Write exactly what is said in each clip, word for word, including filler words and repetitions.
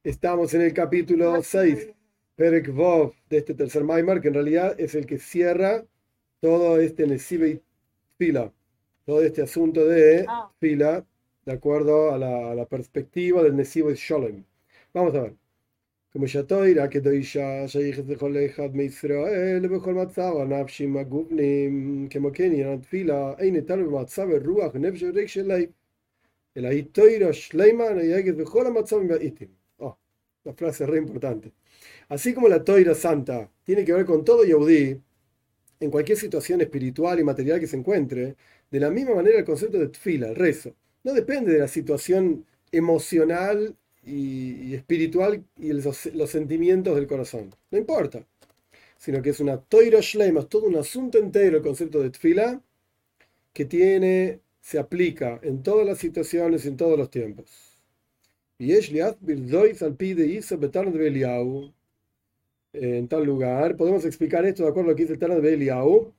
Estamos en el capítulo seis, Perek Vov, de este tercer Maimar, que en realidad es el que cierra todo este Nesivei Fila, todo este asunto de Ah, Fila, de acuerdo a la, a la perspectiva del Nesivei Sholem. Vamos a ver. כמו שהתוירה כדאישה שייכת לכל אחד מישראל ובכל מצב הנפשים הגובנים כמו כן עניין התפילה אין ניתן במצב הרוח נפש וריק של לב אלא היא תוירה שלמה נהגת בכל המצבים והאיתים. Oh, la frase es re importante. Así como la toira santa tiene que ver con todo Yehudí, en cualquier situación espiritual y material que se encuentre, de la misma manera el concepto de tfila, el rezo, no depende de la situación emocional y, y espiritual y los, los sentimientos del corazón. No importa. Sino que es una toira shleima, es todo un asunto entero el concepto de tfila que tiene, se aplica en todas las situaciones y en todos los tiempos. Y es al pide de en tal lugar. Podemos explicar esto de acuerdo a lo que dice el Tana de Eliyahu.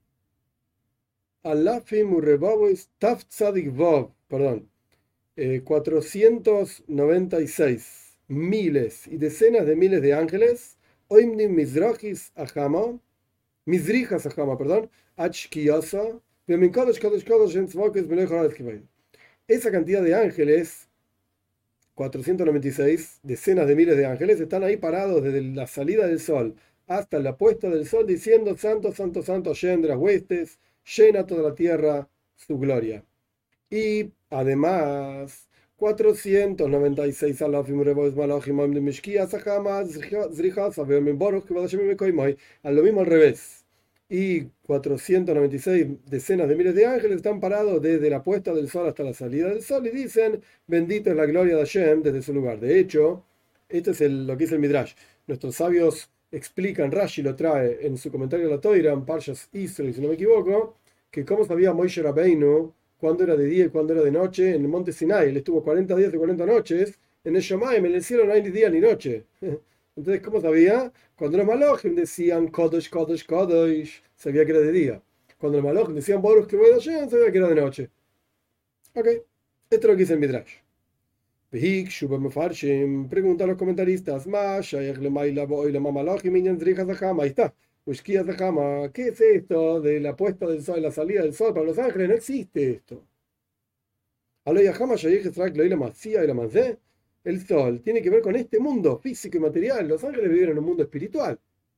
Alafim Urrebabois Taf Tzadik Vav, perdón, eh, cuatrocientos noventa y seis miles y decenas de miles de ángeles, Oimnim Mizrachis Ahama, Mizrijas Ahama, perdón, Achkiyasa, Vemin Kadosh Kadosh Kadosh en Tzvokes Belechor Aleskibay. Esa cantidad de ángeles, cuatrocientos noventa y seis decenas de miles de ángeles, están ahí parados desde la salida del sol hasta la puesta del sol diciendo: Santo, Santo, Santo, Hashem de las huestes, llena toda la tierra su gloria. Y además, cuatrocientos noventa y seis alafim revos malachim de mishkia sajama zrijas aveomin boruch que vadashim mekoimoy, a lo mismo al revés. Y cuatrocientos noventa y seis decenas de miles de ángeles están parados desde la puesta del sol hasta la salida del sol y dicen: bendito es la gloria de Hashem desde su lugar. De hecho, esto es el, lo que dice el Midrash. Nuestros sabios explican, Rashi lo trae en su comentario a la Toira, en Parshas Israel, si no me equivoco, que cómo sabía Moshe Rabbeinu cuándo era de día y cuándo era de noche en el monte Sinai. Él estuvo cuarenta días y cuarenta noches en el Shomayim, en el cielo no hay ni día ni noche. Entonces, ¿cómo sabía? Cuando los malojim decían Kodesh, Kodesh, Kodesh, sabía que era de día. Cuando los malojim decían Boruch que voy a Hashem, sabía que era de noche. Ok, esto es lo que dice el Midrash. Vehik, Shuba Mefarshim, pregunta a los comentaristas: Más, Shayach Lemaila, Boila, Mamalojim, Inyan Zrija Zahama. Ahí está. Ushkia Zahama. ¿Qué es esto de la puesta del sol, la salida del sol para los ángeles? No existe esto. Aloyahama, Shayach Zrak, Loila, Masia y la Manzé. El sol tiene que ver con este mundo físico y material. Los ángeles viven en un mundo espiritual.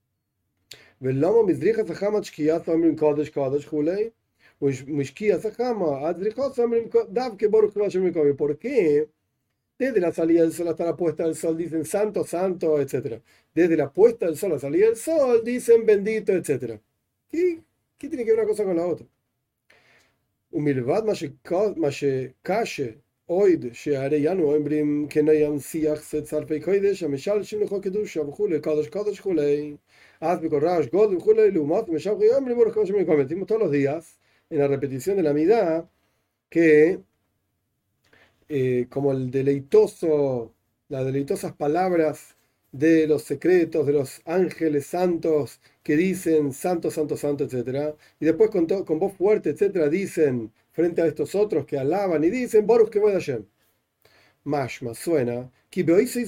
¿Por qué? Desde la salida del sol hasta la puesta del sol dicen santo, santo, etcétera? Desde la puesta del sol a la salida del sol dicen bendito, etcétera. ¿Qué, qué tiene que ver una cosa con la otra? ומלבד מה שקשה עוד שהרי אנו אומרים כניים שיח צרפי קודש המשלשים לכל קדושה וכולי קדוש קדוש וכולי אז בכל רעש גודל וכולי לעומת משלחי אומרים ברוך השם יקום. Decimos todos los días en la repetición de la midá que eh, como el deleitoso, las deleitosas palabras de los secretos de los ángeles santos que dicen santo, santo, santo, etcétera, y después con, to, con voz fuerte, etcétera, dicen frente a estos otros que alaban y dicen Baruch que voy a Hashem. Mashma suena que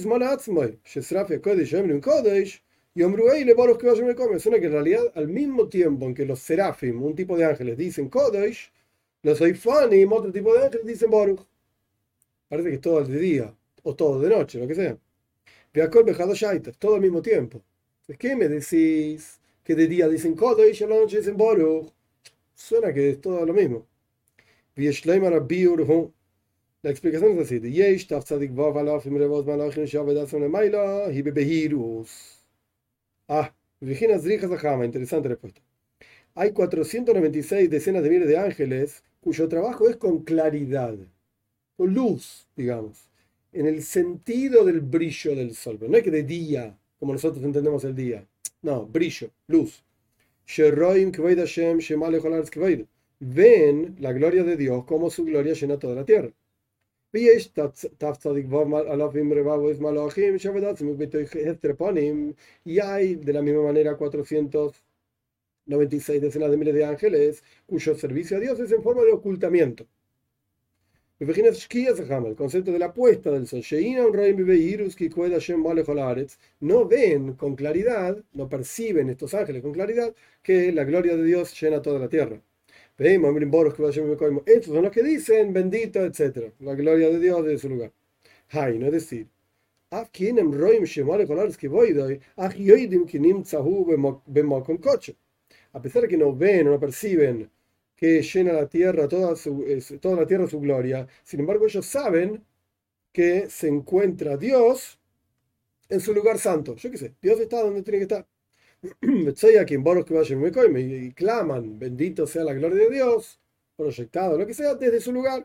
suena que en realidad al mismo tiempo en que los serafim, un tipo de ángeles, dicen Kodesh, los Eifanim, otro tipo de ángeles, dicen Baruch. Parece que es todo de día o todo de noche, lo que sea. Todo al mismo tiempo. ¿Qué me decís? Que de día dicen Kodesh y a la noche dicen Baruch. Suena que es todo lo mismo. La explicación es así. Ah, Virginia Zrija Zahama, interesante respuesta. Hay cuatrocientos noventa y seis decenas de miles de ángeles cuyo trabajo es con claridad, con luz, digamos, en el sentido del brillo del sol. Pero no es que de día, como nosotros entendemos el día. No, brillo, luz. Ven la gloria de Dios como su gloria llena toda la tierra. Y hay de la misma manera cuatrocientos noventa y seis decenas de miles de ángeles cuyo servicio a Dios es en forma de ocultamiento. El concepto de la puesta del sol. No ven con claridad, no perciben estos ángeles con claridad que la gloria de Dios llena toda la tierra. Estos son los que dicen bendito, etcétera. La gloria de Dios de su lugar. Hay, no es decir, a pesar de que no ven o no perciben que llena la tierra, toda, su, toda la tierra su gloria, sin embargo ellos saben que se encuentra Dios en su lugar santo. Yo qué sé, Dios está donde tiene que estar. Y claman, bendito sea la gloria de Dios, proyectado, lo que sea, desde su lugar.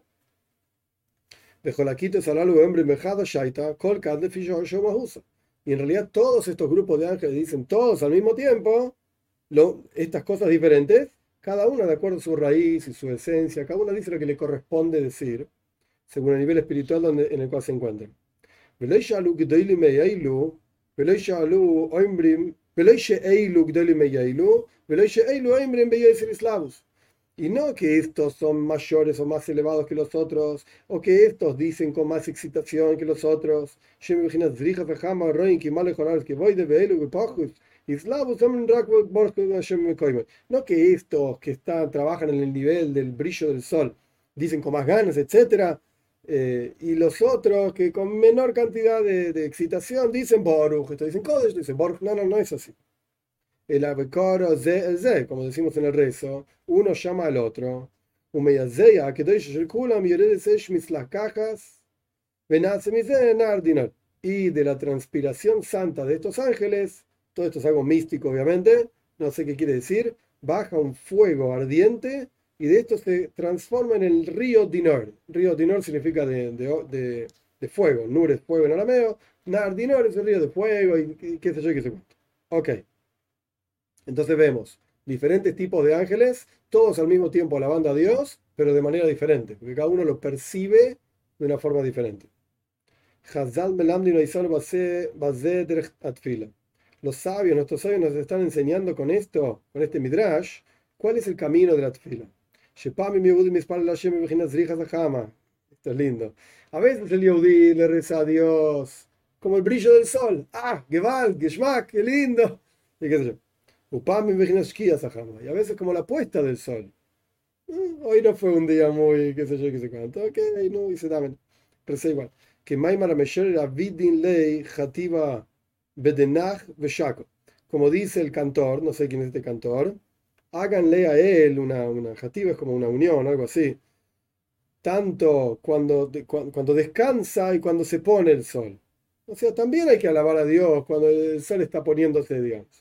Y en realidad todos estos grupos de ángeles dicen todos al mismo tiempo lo, estas cosas diferentes, cada una de acuerdo a su raíz y su esencia, cada una dice lo que le corresponde decir, según el nivel espiritual donde, en el cual se encuentran. Y no que estos son mayores o más elevados que los otros, o que estos dicen con más excitación que los otros. No que estos que están, trabajan en el nivel del brillo del sol dicen con más ganas, etcétera. Eh, y los otros que con menor cantidad de, de excitación dicen Baruch, estos dicen Kodesh, dicen Baruch. No, no, no es así. El abekoro ze el ze, como decimos en el rezo, uno llama al otro. Y de la transpiración santa de estos ángeles, todo esto es algo místico obviamente, no sé qué quiere decir, baja un fuego ardiente y de esto se transforma en el río Dinor. Río Dinor significa de, de, de, de fuego, Nur es fuego en arameo, Nar Dinor es el río de fuego y, y qué sé yo, qué sé cuánto. Ok. Entonces vemos diferentes tipos de ángeles, todos al mismo tiempo alabando a Dios, pero de manera diferente, porque cada uno lo percibe de una forma diferente. Los sabios, nuestros sabios nos están enseñando con esto, con este midrash, cuál es el camino de la tefila. Esto es lindo. A veces el Yehudi le reza a Dios como el brillo del sol. Ah, Gewalt, Geschmack, qué lindo. Y qué sé yo. Y a veces como la puesta del sol. Hoy no fue un día muy, qué sé yo, qué sé cuánto. Ok, no hice también. Pero es igual. Que Maimar Mesher era Vidin Lei Hativa Bedenach Veshako. Como dice el cantor, no sé quién es este cantor, háganle a él una, una Hativa, es como una unión, algo así. Tanto cuando, cuando descansa y cuando se pone el sol. O sea, también hay que alabar a Dios cuando el sol está poniéndose, digamos.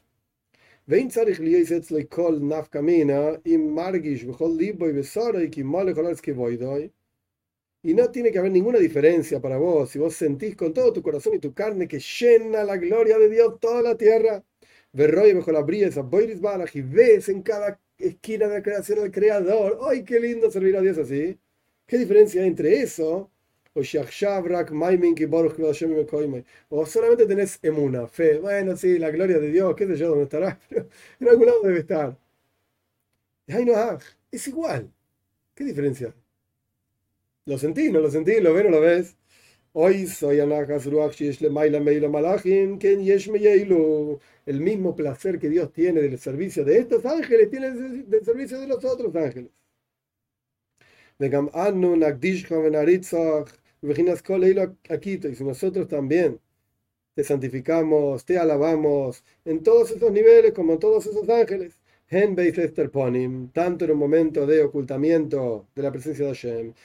Y no tiene que haber ninguna diferencia para vos si vos sentís con todo tu corazón y tu carne que llena la gloria de Dios toda la tierra. Y ves en cada esquina de la creación al Creador. ¡Ay, qué lindo servir a Dios así! ¿Qué diferencia hay entre eso? O solamente tenés emuna, fe. Bueno, sí, la gloria de Dios, qué sé yo dónde estará, pero en algún lado debe estar. Ay, no, ah, es igual. ¿Qué diferencia? ¿Lo sentís? ¿No lo sentís? ¿Lo ves? ¿No lo ves? Hoy soy el mismo placer que Dios tiene del servicio de estos ángeles, tiene del servicio de los otros ángeles. Y si nosotros también te santificamos, te alabamos en todos esos niveles como todos esos ángeles, tanto en un momento de ocultamiento de la presencia de Hashem,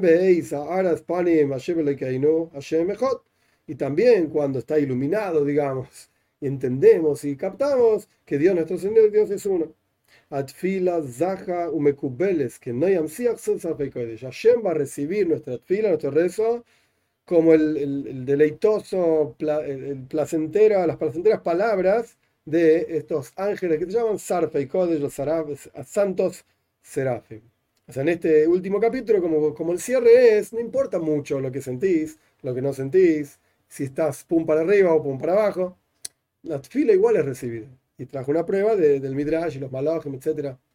y también cuando está iluminado, digamos, y entendemos y captamos que Dios, nuestro Señor, Dios es uno. Atfila, Zaha, Umekubeles, que no Yamsiach son Sarfeikodesh. Hashem va a recibir nuestra atfila, nuestro rezo, como el, el, el deleitoso, el, el placentero, las placenteras palabras de estos ángeles que se llaman Sarfeikodesh, los saraf, santos serafim. O sea, en este último capítulo, como, como el cierre es, no importa mucho lo que sentís, lo que no sentís, si estás pum para arriba o pum para abajo, la atfila igual es recibida. Y trajo una prueba de, del Midrash y los Malachim, etcétera.